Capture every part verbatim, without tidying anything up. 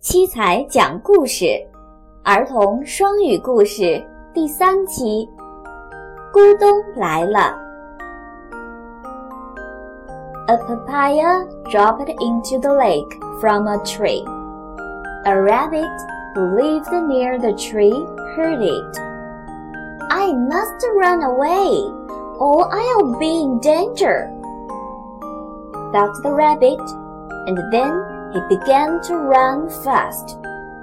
七彩讲故事，儿童双语故事第三期，咕咚来了。A papaya dropped into the lake from a tree. A rabbit who lived near the tree heard it. I must run away, or I'll be in danger, thought the rabbit, and then he began to run fast.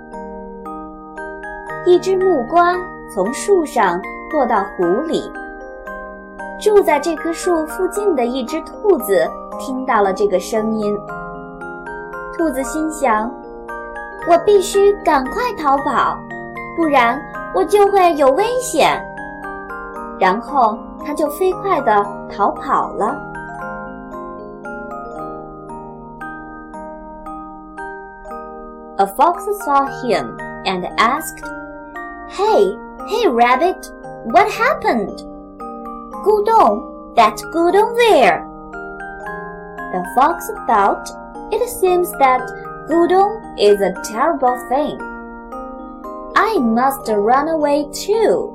一只木瓜从树上落到湖里。住在这棵树附近的一只兔子听到了这个声音。兔子心想，我必须赶快逃跑，不然我就会有危险。然后它就飞快地逃跑了。A fox saw him and asked, Hey, hey rabbit, what happened? Gudong, that Gudong there. The fox thought, It seems that Gudong is a terrible thing. I must run away too.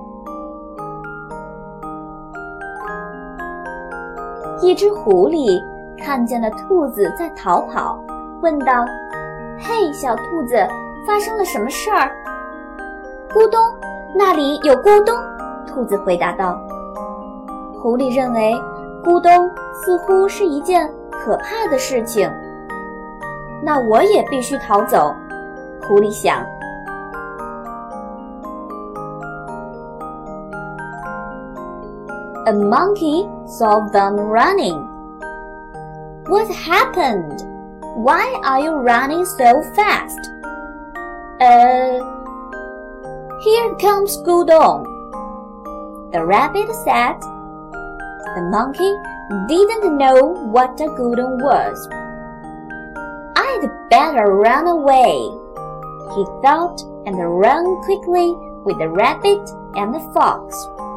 一只狐狸看见了兔子在逃跑，问道，嘿，小兔子，发生了什么事儿？咕咚，那里有咕咚，兔子回答道。狐狸认为咕咚似乎是一件可怕的事情，那我也必须逃走，狐狸想。A monkey saw them running. What happened? Why are you running so fast? Uh, here comes Gudong, the rabbit said. The monkey didn't know what a Gudong was. I'd better run away, he thought, and ran quickly with the rabbit and the fox.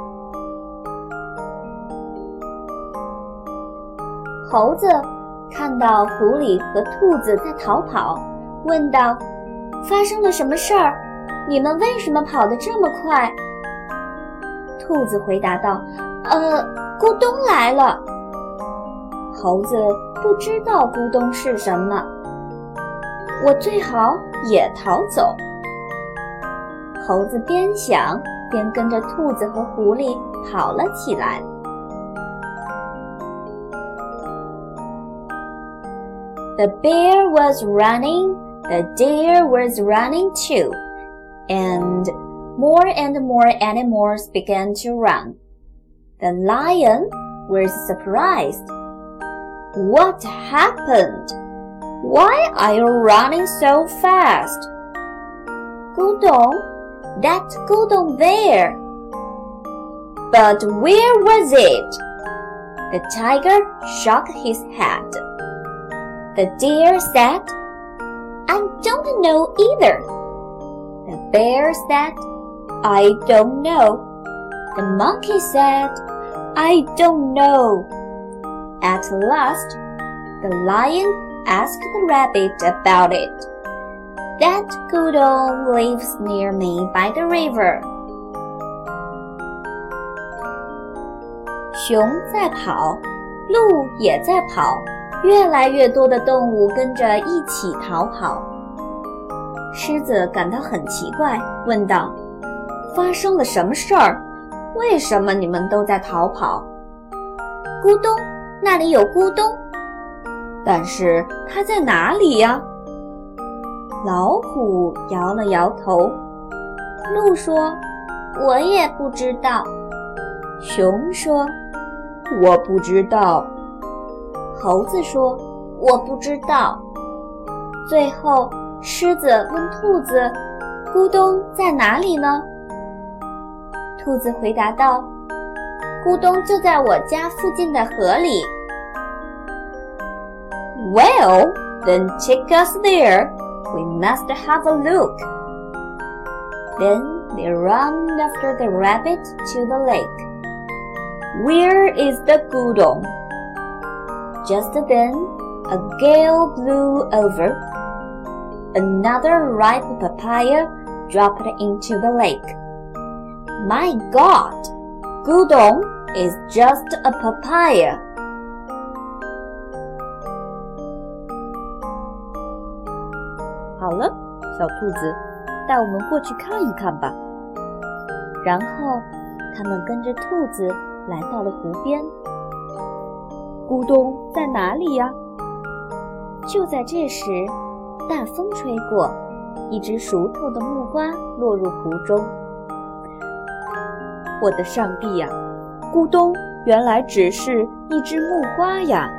猴子看到狐狸和兔子在逃跑，问道，发生了什么事儿？你们为什么跑得这么快？兔子回答道，呃，咕咚来了。猴子不知道咕咚是什么，我最好也逃走。猴子边想边跟着兔子和狐狸跑了起来。The bear was running, the deer was running too, and more and more animals began to run. The lion was surprised. What happened? Why are you running so fast? Gudong, that Gudong there. But where was it? The tiger shook his head.The deer said, I don't know either. The bear said, I don't know. The monkey said, I don't know. At last, the lion asked the rabbit about it. That Gudong lives near me by the river. 熊在跑，鹿也在跑。越来越多的动物跟着一起逃跑。狮子感到很奇怪，问道，发生了什么事儿？为什么你们都在逃跑？咕咚，那里有咕咚，但是它在哪里呀？老虎摇了摇头。鹿说，我也不知道。熊说，我不知道。猴子说，我不知道。最后狮子问兔子，咕咚在哪里呢？兔子回答道，咕咚就在我家附近的河里。Well, then take us there. We must have a look. Then they ran after the rabbit to the lake. Where is the Gudong?Just then, a gale blew over. another ripe papaya dropped into the lake. My God, Gudong is just a papaya. 好了，小兔子，带我们过去看一看吧。 然后，他们跟着兔子来到了湖边。 咕咚在哪里呀？ 就在这时，大风吹过，一只熟透的木瓜落入湖中。 我的上帝呀，咕咚原来只是一只木瓜呀！